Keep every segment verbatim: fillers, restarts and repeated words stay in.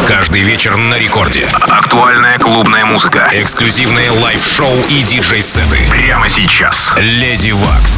Каждый вечер на рекорде. Актуальная клубная музыка. Эксклюзивные лайв-шоу и диджей-сеты. Прямо сейчас. Леди Вакс.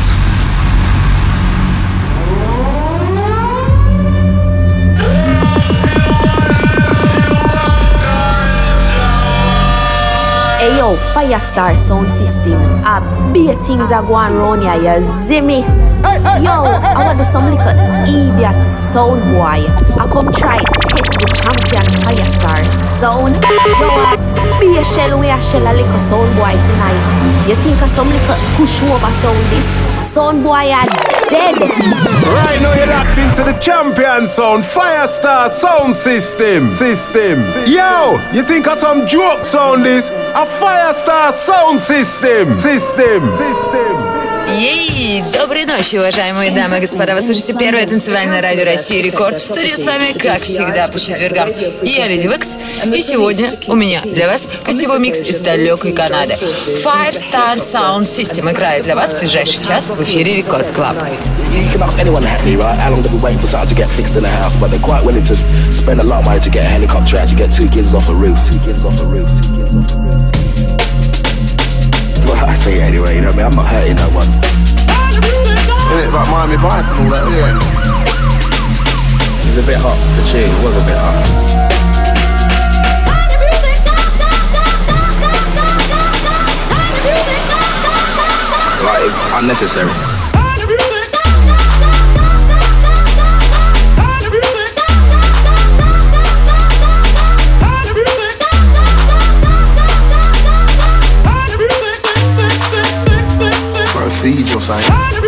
Hey yo, Firestar Sound System. A big things are going on here, you see me? Yo, I want to some little idiot sound boy. I come try test the champion Firestar Sound. Yo, a big shell we a shell a little sound boy tonight. You think of some little push over sound this? Sound boy are dead. Right now you're locked into the champion sound, Firestar Sound System. System. Yo, you think of some joke sound this? A Firestar Sound System. System. System. Ей! Доброй ночи, уважаемые дамы и господа. Вы слушаете первое танцевальное радио России Рекорд. В студии с вами, как всегда, по четвергам. Я Леди Вакс. И сегодня у меня для вас гостевой микс из далекой Канады. Firestar Sound System играет для вас в ближайший час в эфире Рекорд Клаб. You can ask anyone at Hackney, right? How long they've been waiting for something to get fixed in the house, but they're quite willing to spend a lot of money to get a helicopter out to get two kids off a roof. Two kids off a roof. Two kids off a roof. Well, I say anyway, you know what I mean? I'm not hurting no one. Isn't it like Miami Vice and all that, yeah? It was a bit hot, the tune, it was a bit hot. Like, unnecessary. Siege or something.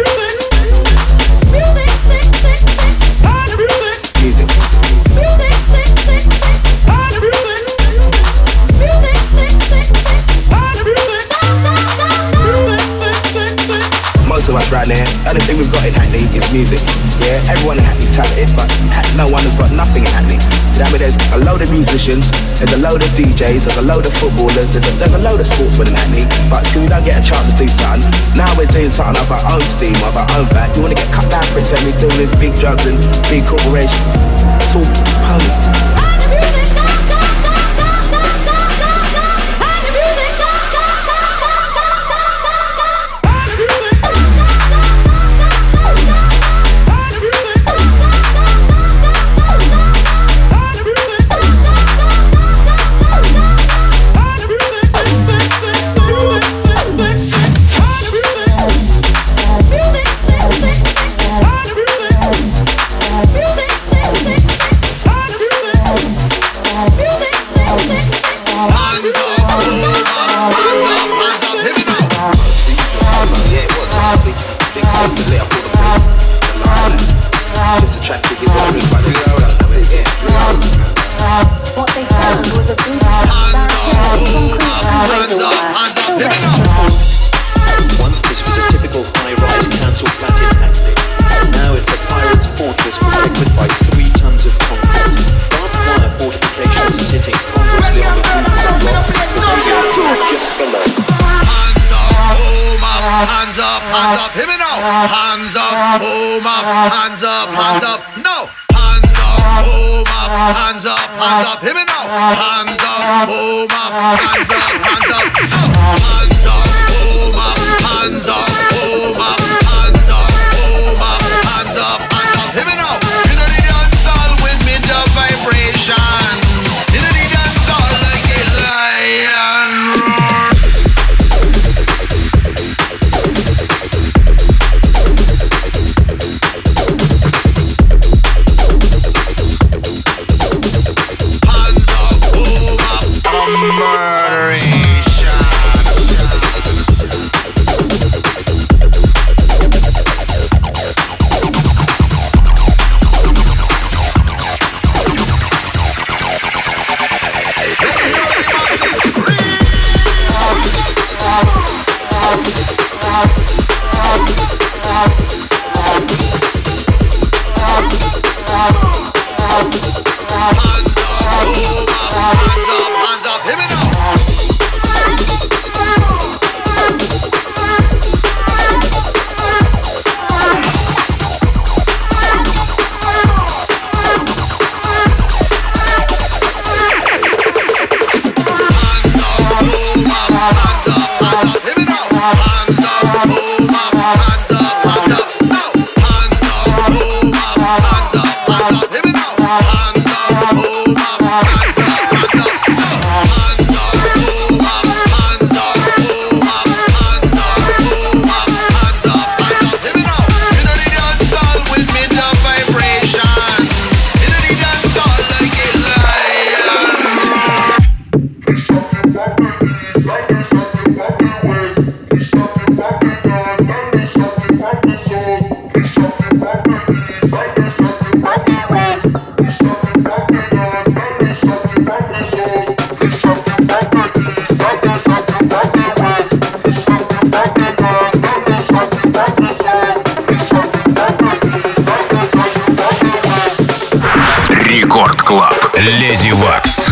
Music. Most of us right there, the only thing we've got in Hackney is music. Yeah, everyone in Hackney's talented, but no one has got nothing in Hackney. You know what I mean? There's a load of musicians, there's a load of D Js, there's a load of footballers, there's a, there's a load of sportsmen in Hackney, but because we don't get a chance to do something, now we're doing something of our own steam, of our own back. You want to get cut down for it, so we're doing with big drugs and big corporations. It's all pony. Рекорд Клаб. Леди Вакс.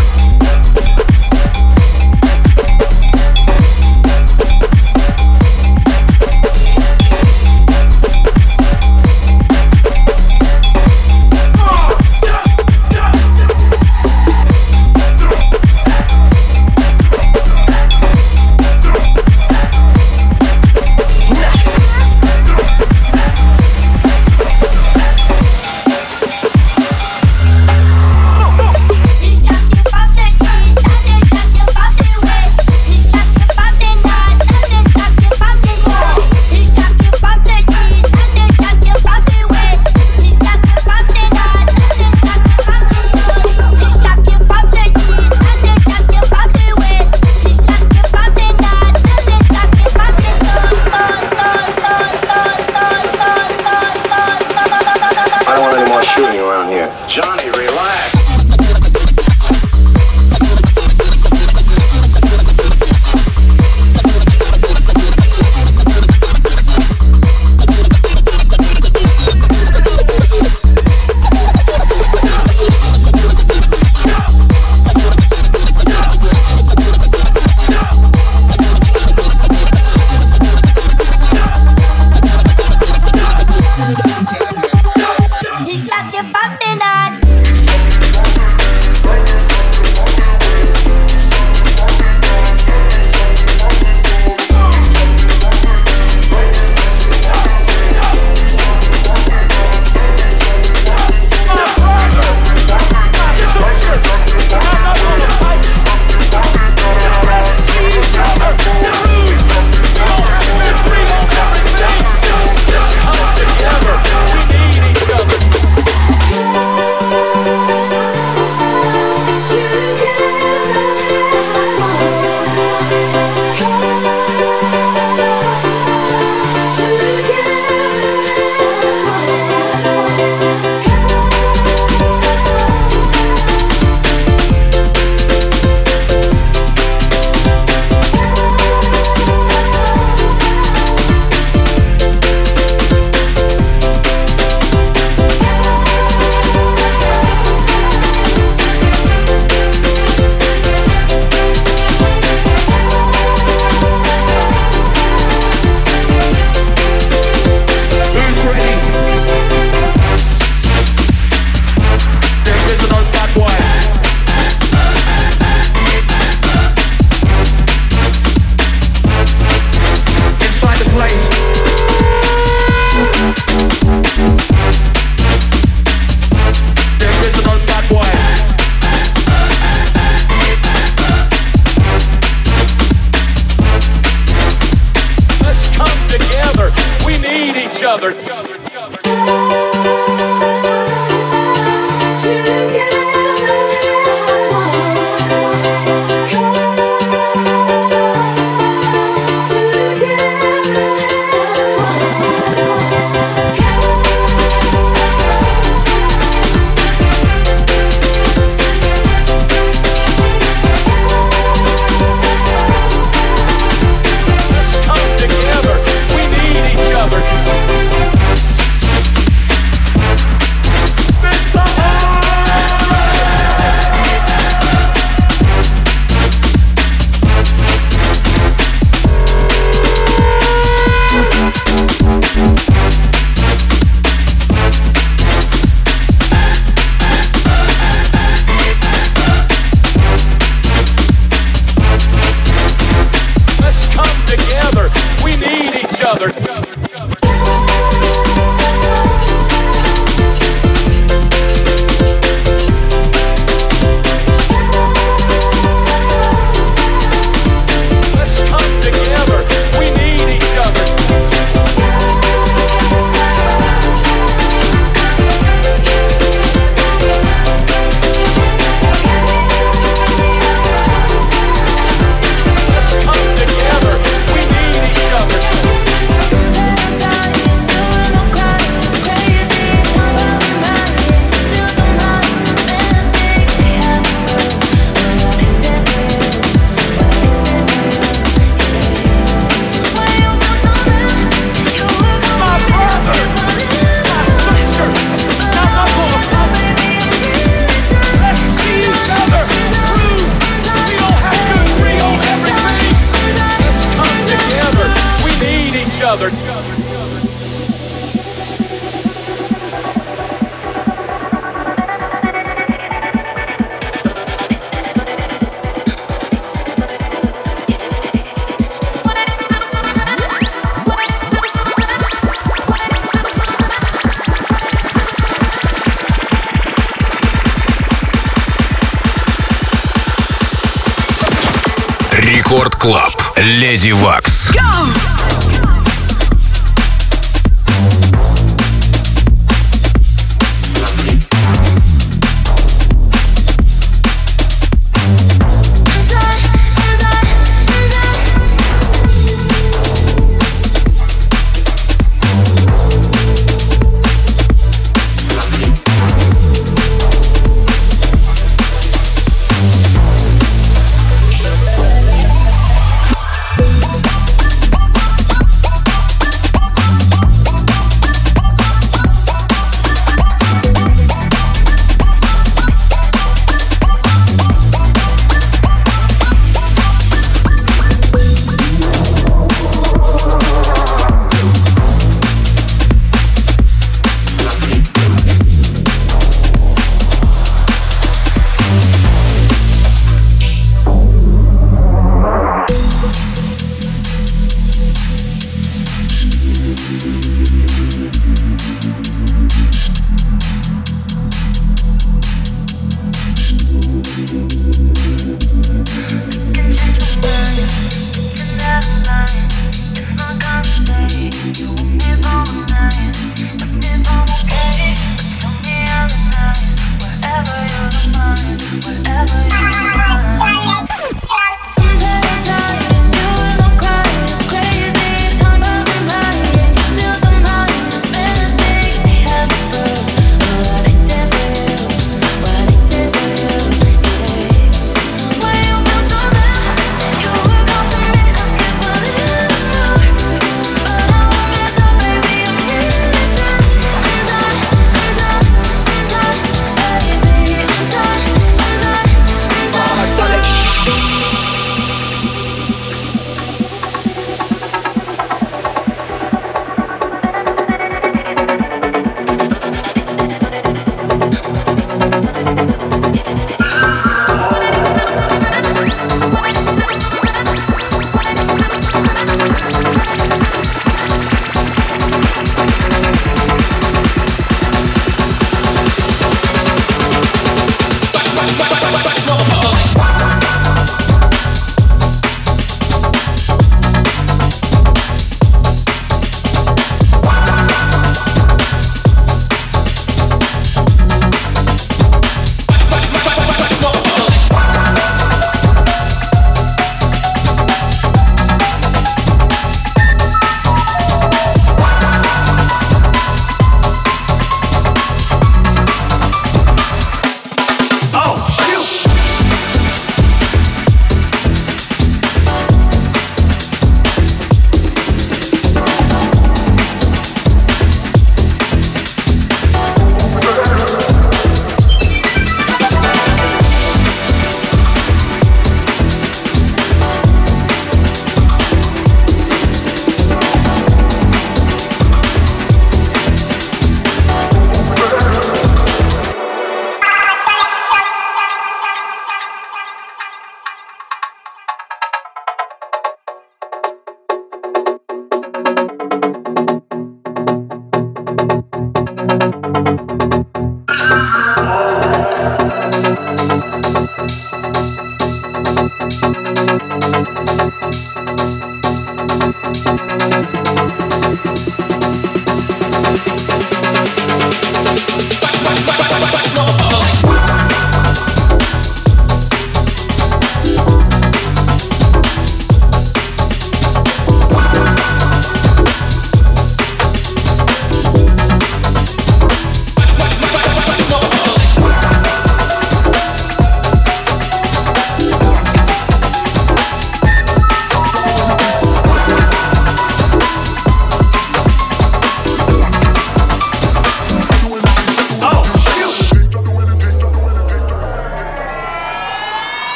Рекорд Клаб. Леди Вакс.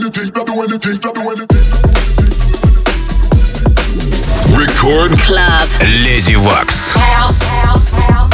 anything, not do anything, not do anything. Record Club. Леди Вакс. House, house, house.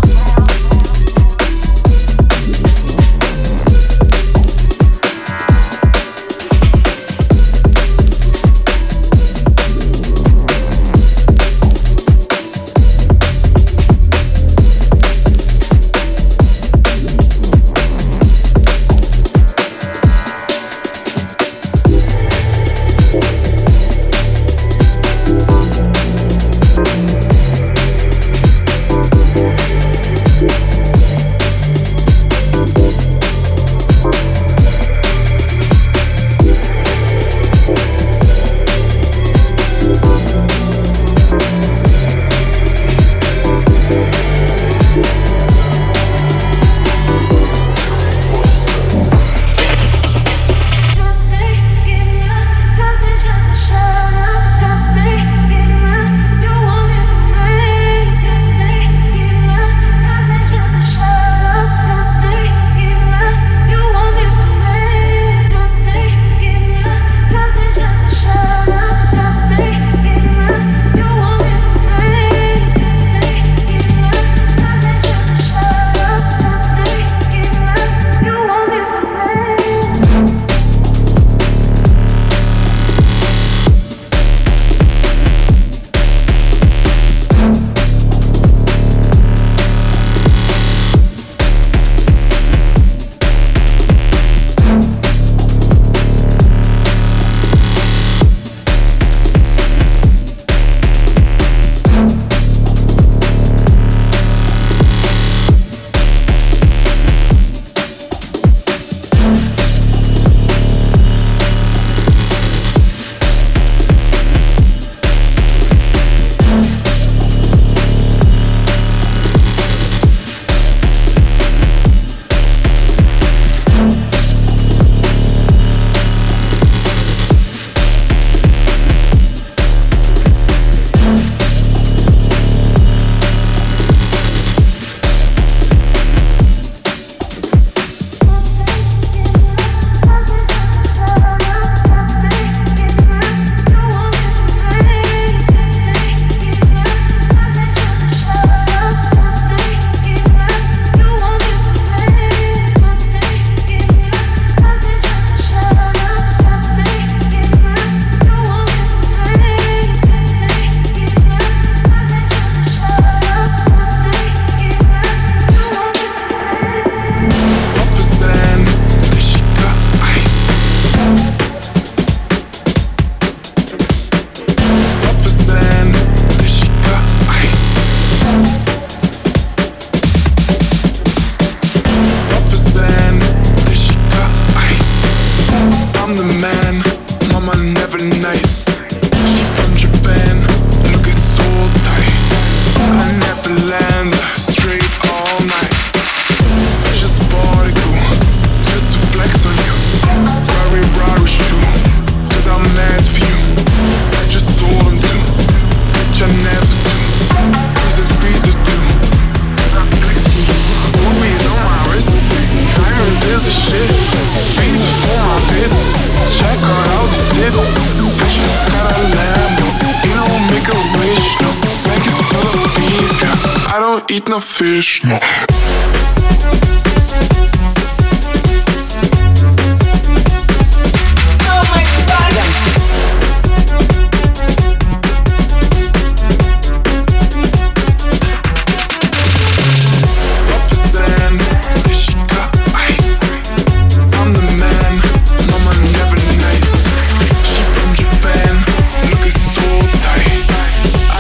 Eat no fish, no.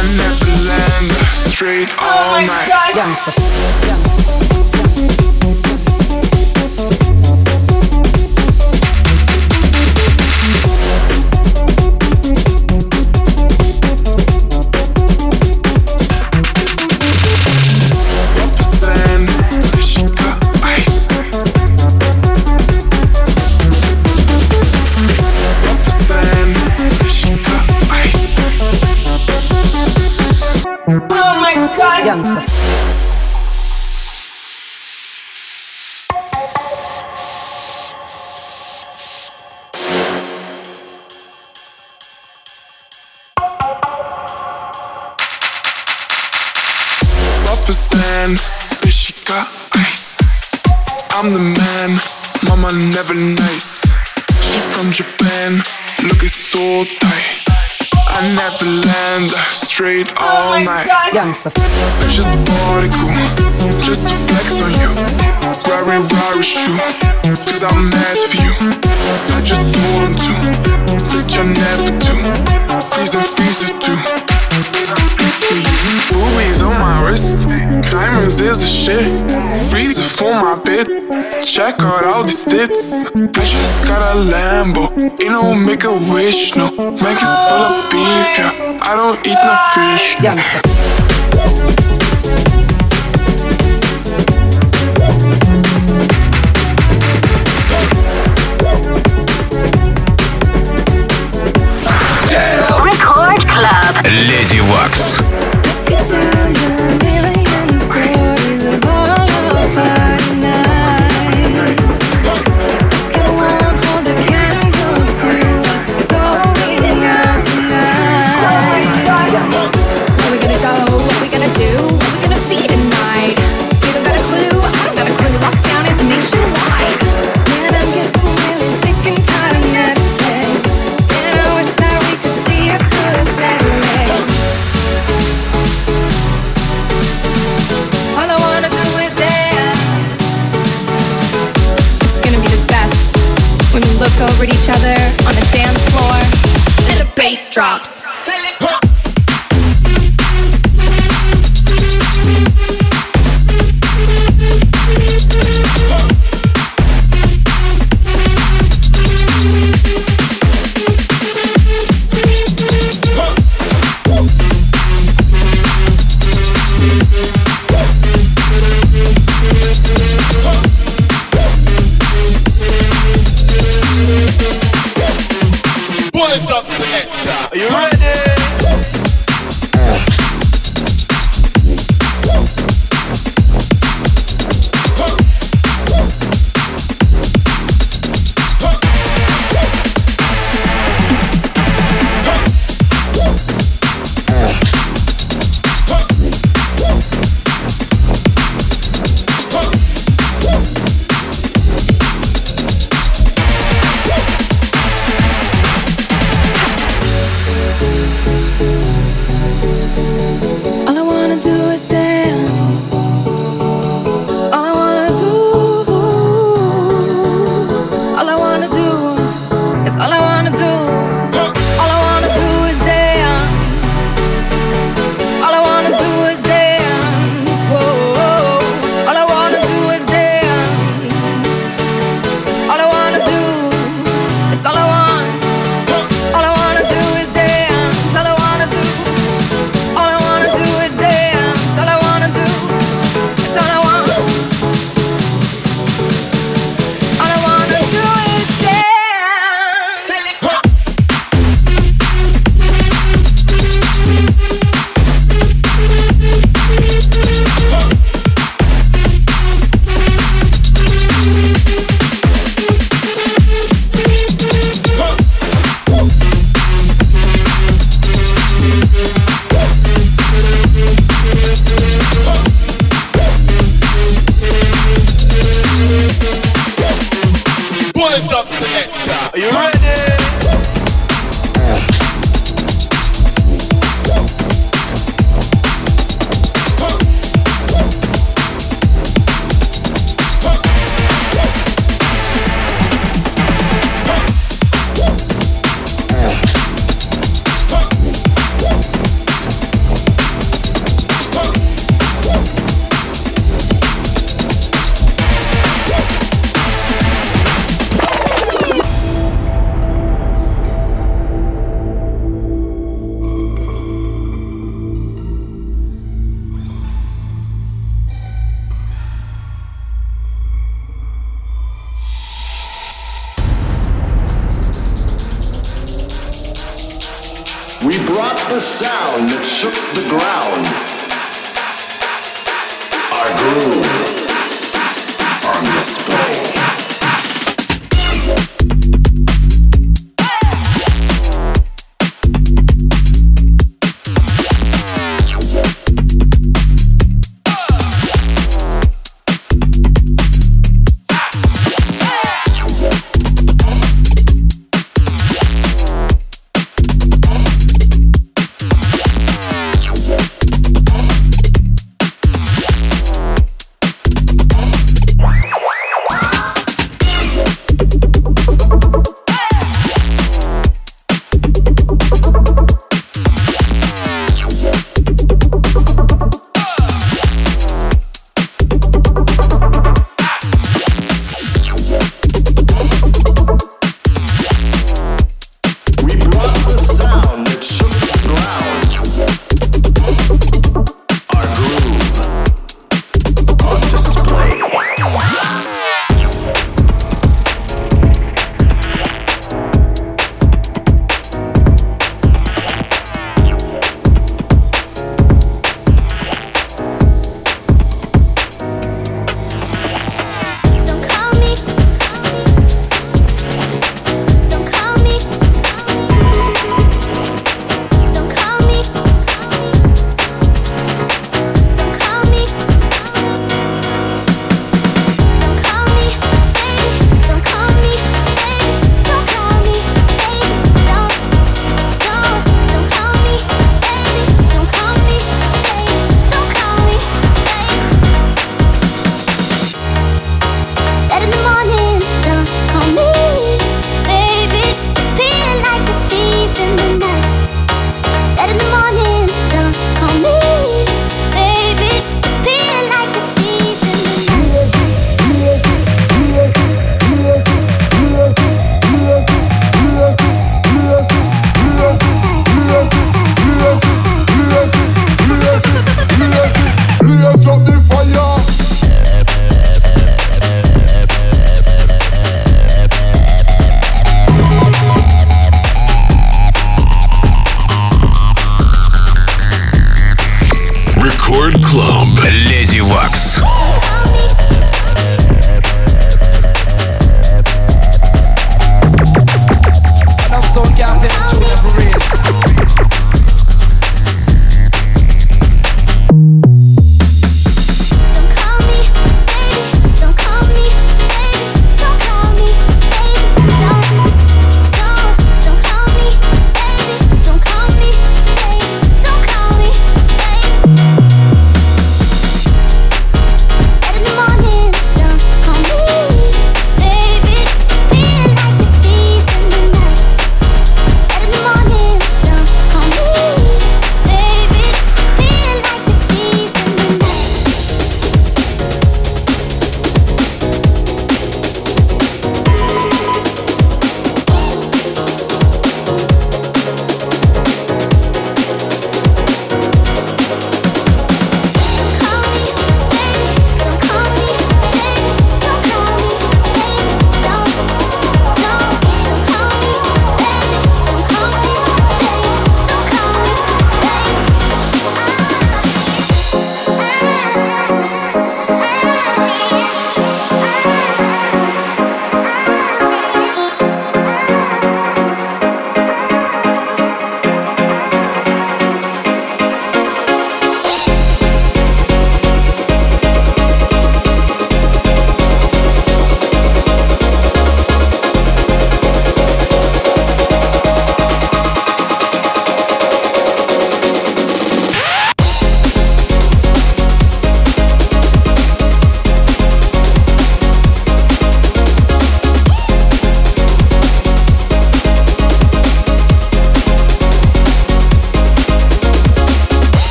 All night. man, but she got ice. I'm the man, mama never nice. She from Japan, looking so tight. I never land, straight all night. Just a party cool, just to flex on you. Rari Rari shoe, cause I'm mad for you. I just want to, bitch I never do. Freeze and freeze it too. Rubies on my wrist, diamonds is the shit. Freezer for my bit, check out all these tits. I just got a Lambo, ain't no make a wish, no. Maggie's full of beef, yeah. I don't eat no fish, no. Record Club. Леди Вакс. Over at each other on the dance floor, and the bass drops. Are you ready? Are you ready? We brought the sound that shook the ground. Our groove on display.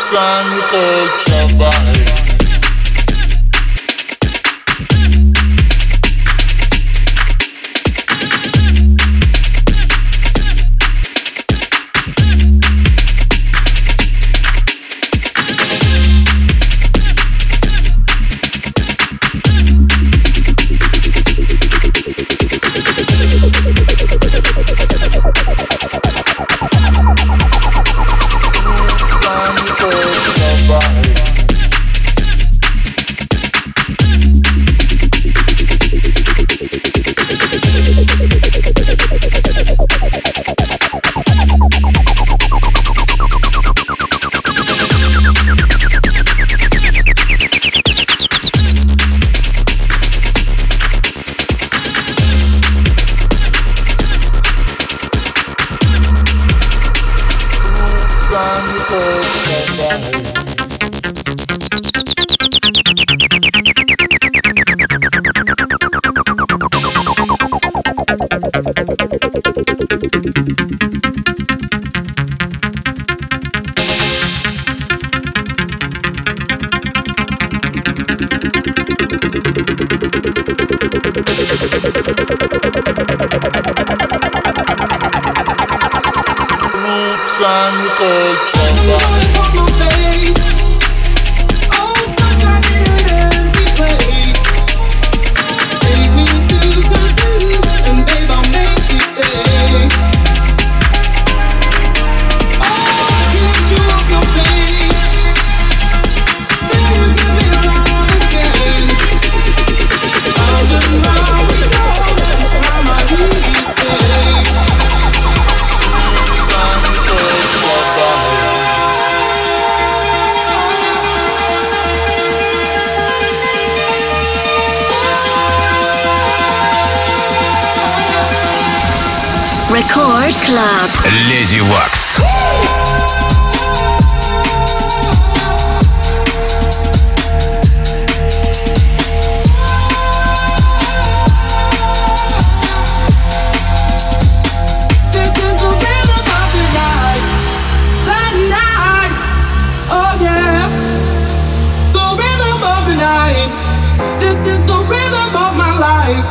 Record Club. Леди Вакс.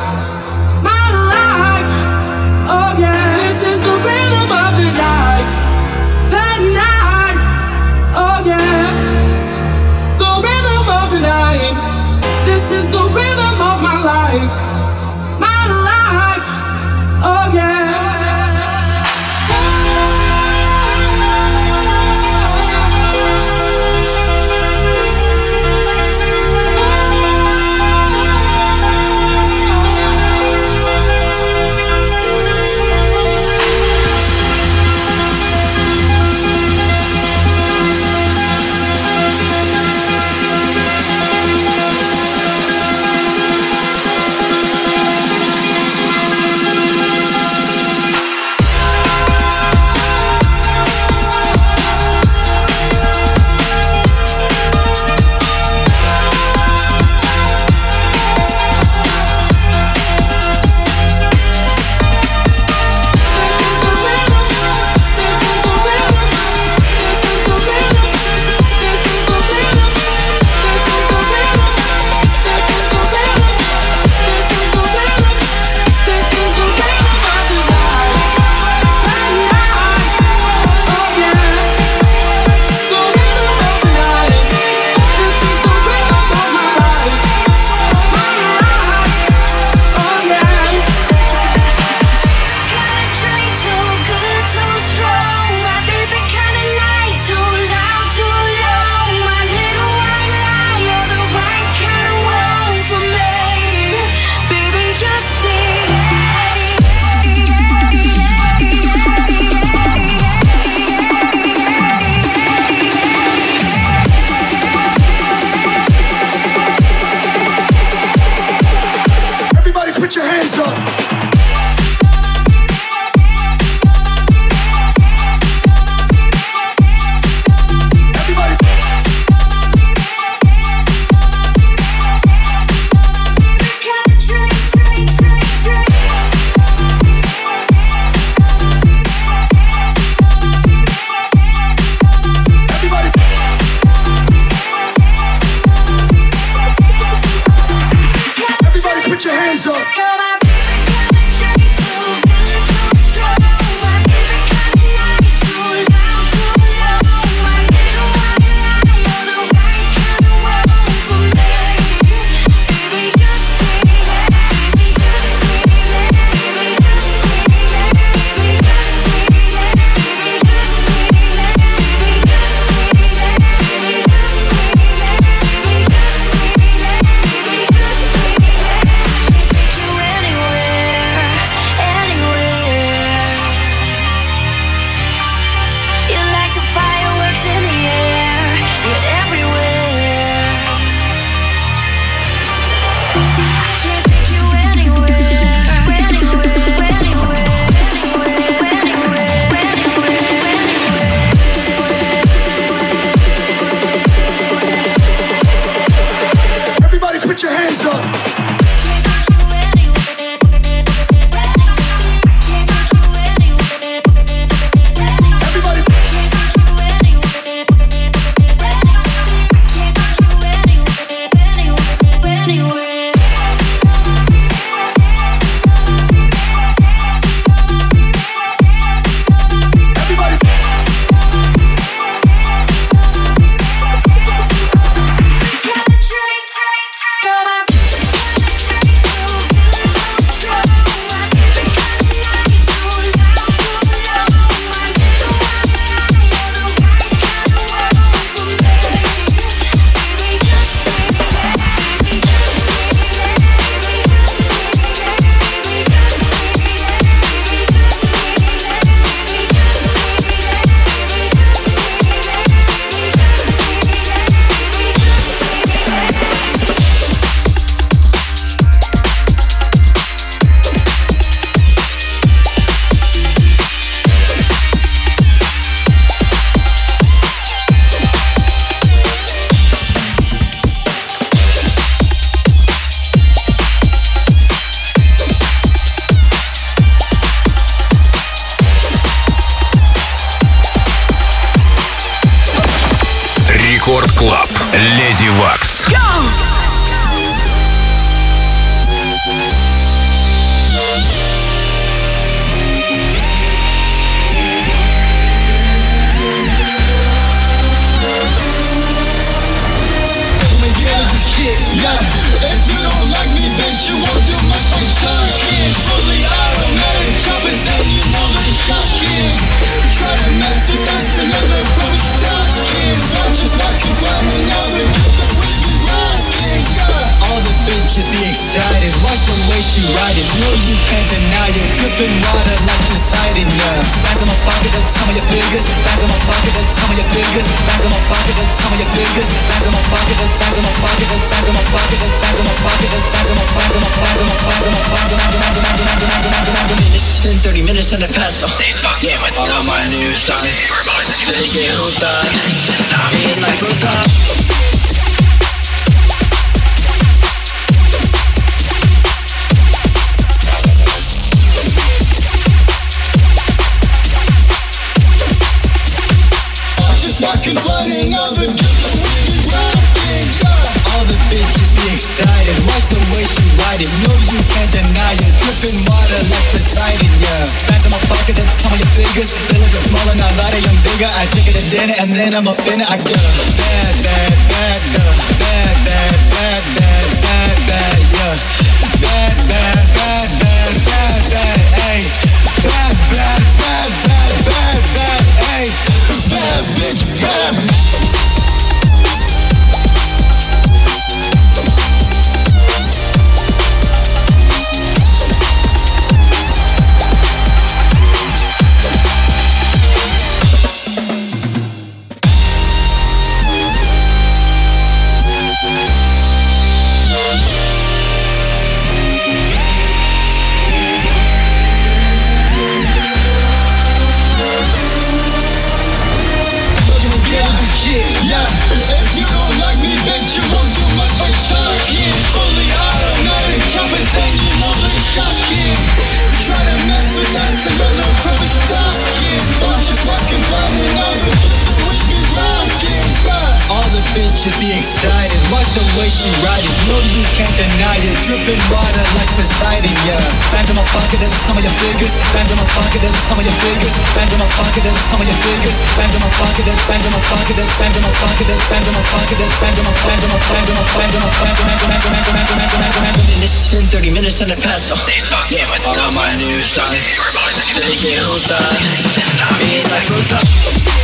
My life, oh yeah, this is the rhythm of the night. Рекорд Клаб. Леди Вакс. Yeah, if you don't like me, bitch, you won't do much by talking. Fully automatic choppers and you know they shocking. Try to mess with us, another approach talking. Watch us walking, running out the the way we rocking. Yeah, all the bitches be excited. Watch the way she ride it. No, you can't deny it. Dripping water like Poseidon. Yeah, bands in my pocket, the time of your fingers. Bands in my pocket, the time of your fingers. Bands in my pocket, the time of your fingers. Bands in my pocket, the time of my pocket, the time of my pocket, the time of my pocket, the time of my pocket, the time of my pocket, the time of my pocket. thirty minutes and a paso. They fucking with all my new songs. They get hooked up. It's like hooked up. Walking, flooding all the drip, the way we rockin', yeah. All the bitches be excited. Watch the way she ride it. No, you can't deny it. Dripping water like Poseidon, yeah. Bands in my pocket, the time of your fingers. They look smaller, not lighter, I'm bigger. I take it to dinner and then I'm up in it. I get a bad, bad, bad, uh, bad, bad, bad, bad, bad, bad, yeah. Bad, bad, bad, bad, bad, bad, ayy. Bad, bad, bad, bad, bad, bad, ayy. Bad bitch, bad. Just be excited, watch the way she ride it. No, you can't deny it. Dripping water like Poseidon, yeah. Bands in my pocket, that's some of your figures. Bands in my pocket, that's some of your figures. Bands in my pocket, that's some of your figures. Bands in my pocket, that's bands in my pocket, that's bands in my pocket, that's bands in my pocket, that's bands in my bands in my bands in my bands in my bands in my bands in my bands in my bands in my bands in thirty minutes and a paso. They fucking with all my new songs. They get hooked up. It's like hooked up.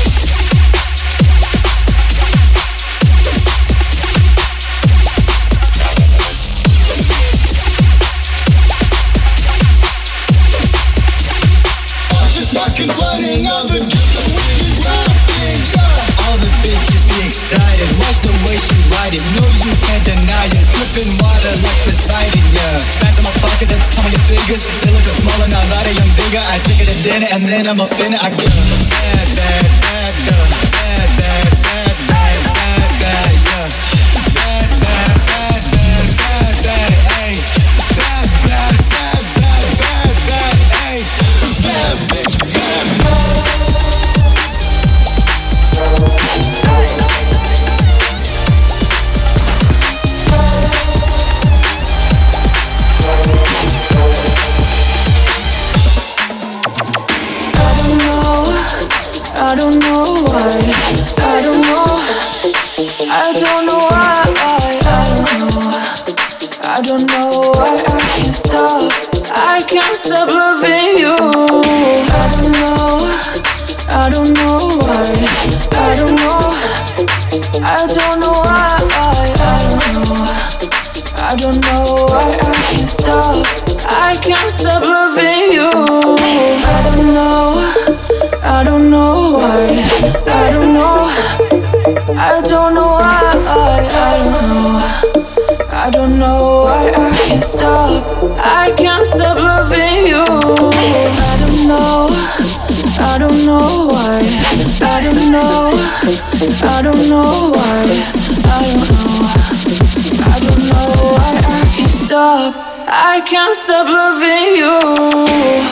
Walking, flooding all the drip, the way we rockin', yeah. All the bitches be excited. Watch the way she ride it. No, you can't deny it. Dripping water like Poseidon, yeah. Bands in my pocket, that's some of your fingers. They look smaller, not lighter, I'm bigger. I take it to dinner and then I'm up in it. I get bad, bad, bad, uh, bad, bad, bad, bad, bad, bad, yeah. Bad, bad, bad, bad, bad, bad, ayy. Bad, bad, bad, bad, bad, bad, ayy. Bad bitch, bad. I don't know why, I don't know, I don't know why, I don't know, I don't know why I can't stop, I can't stop loving you. I don't know, I don't know why, I don't know, I don't know why, I don't know, I don't know why I can't stop, I can't stop loving you. I don't know. I don't know why, I don't know, I don't know why, I don't know, I don't know why I can't stop, I can't stop loving you. I don't know, I don't know why, I don't know, I don't know why, I don't know, I don't know why I can't stop, I can't stop loving you.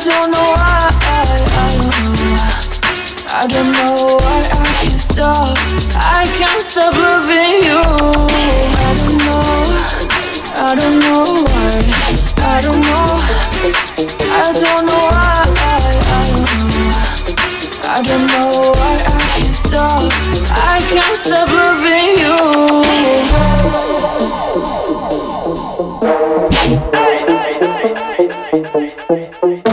don't know why, I don't know why I can't stop. I can't stop loving you. I don't know, I don't know why. I don't know, I don't know why. I don't know why I can't stop. I can't stop loving you. Hey, hey, hey, hey, hey, hey.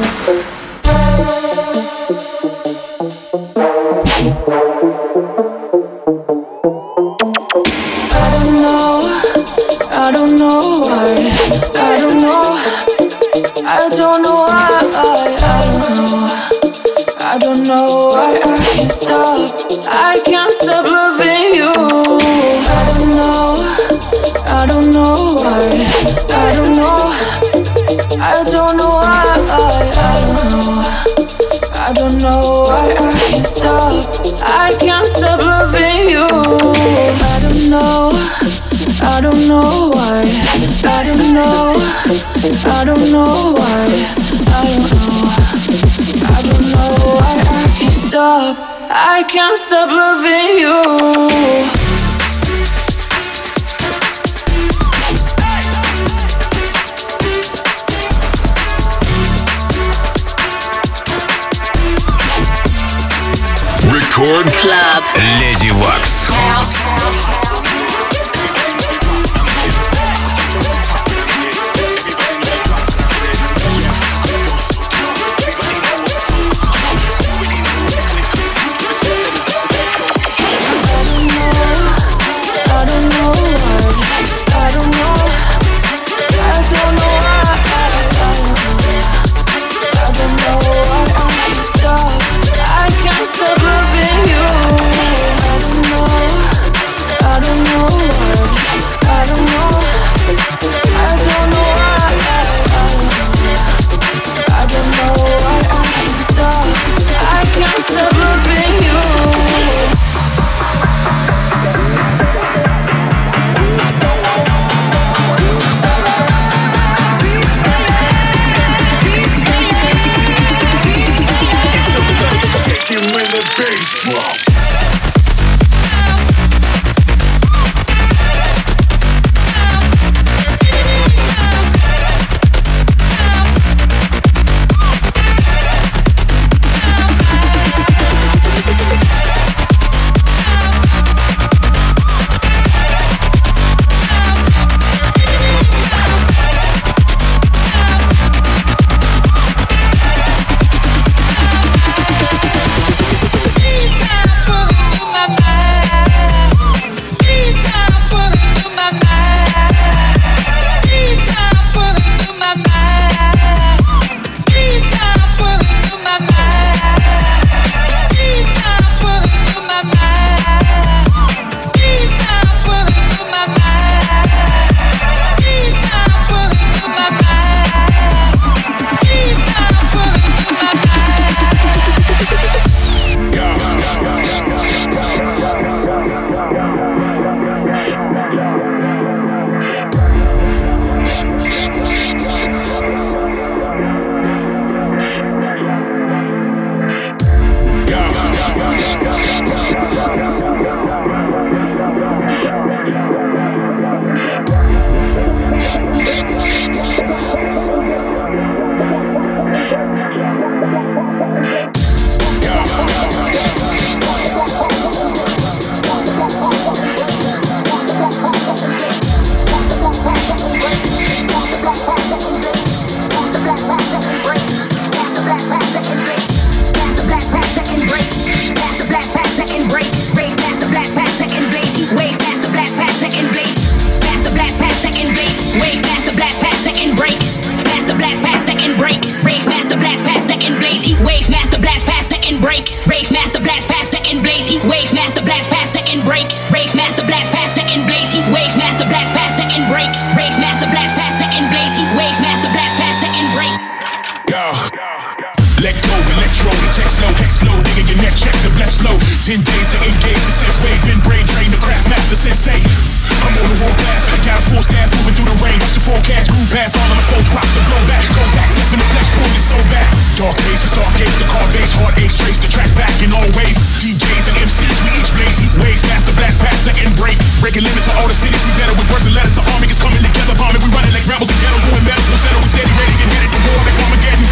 I don't know why, I don't know, I don't know why, I don't know, I don't know why I can't stop, I can't stop loving you. I don't know, I don't know why, I don't know, I don't know why, I don't know, I don't know why I can't stop, I can't stop loving you. I don't know, I don't know why, I don't know, I don't know why, I don't know, I don't know why I can't stop, I can't stop loving you. Record Club. Lady Wax. with the car bass, hard ace, trace the track back in all ways. D Js and M Cs, we each blaze heat waves, master blast, past the end break. Breaking limits for all the cities, we better with words and letters. The army is coming together, bombing, we running like rebels and ghettos. When medals will settle, we steady, ready, get headed to war like Armageddon.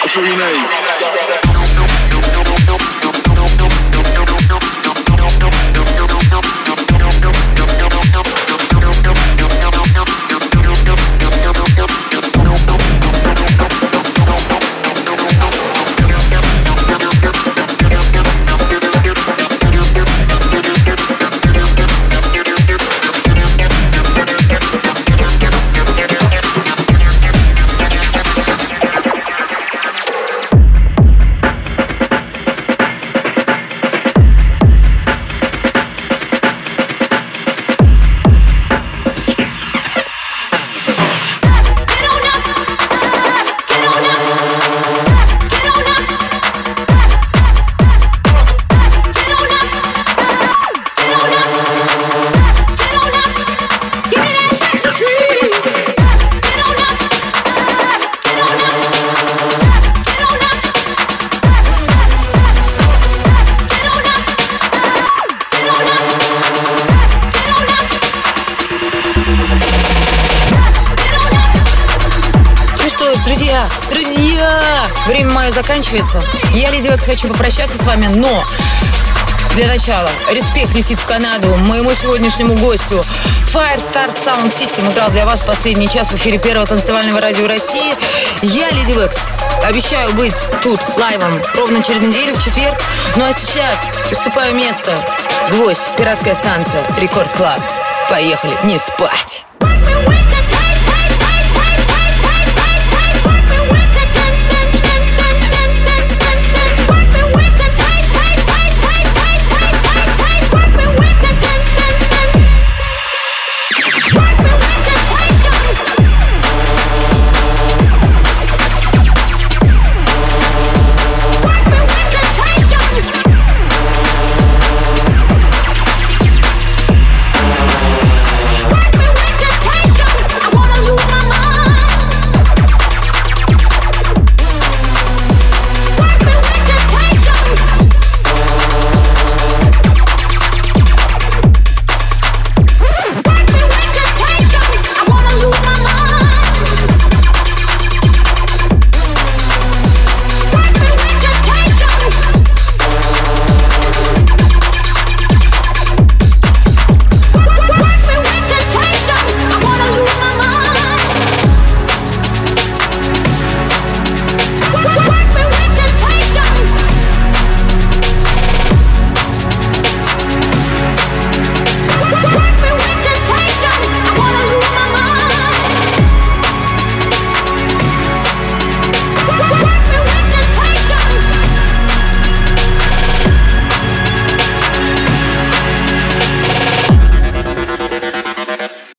That's all you need. Время мое заканчивается. Я, Леди Вакс, хочу попрощаться с вами, но для начала респект летит в Канаду моему сегодняшнему гостю. Firestar Sound System играл для вас последний час в эфире первого танцевального радио России. Я, Леди Вакс, обещаю быть тут лайвом ровно через неделю в четверг. Ну а сейчас уступаю место. Гвоздь, пиратская станция, Рекорд Клаб. Поехали, не спать.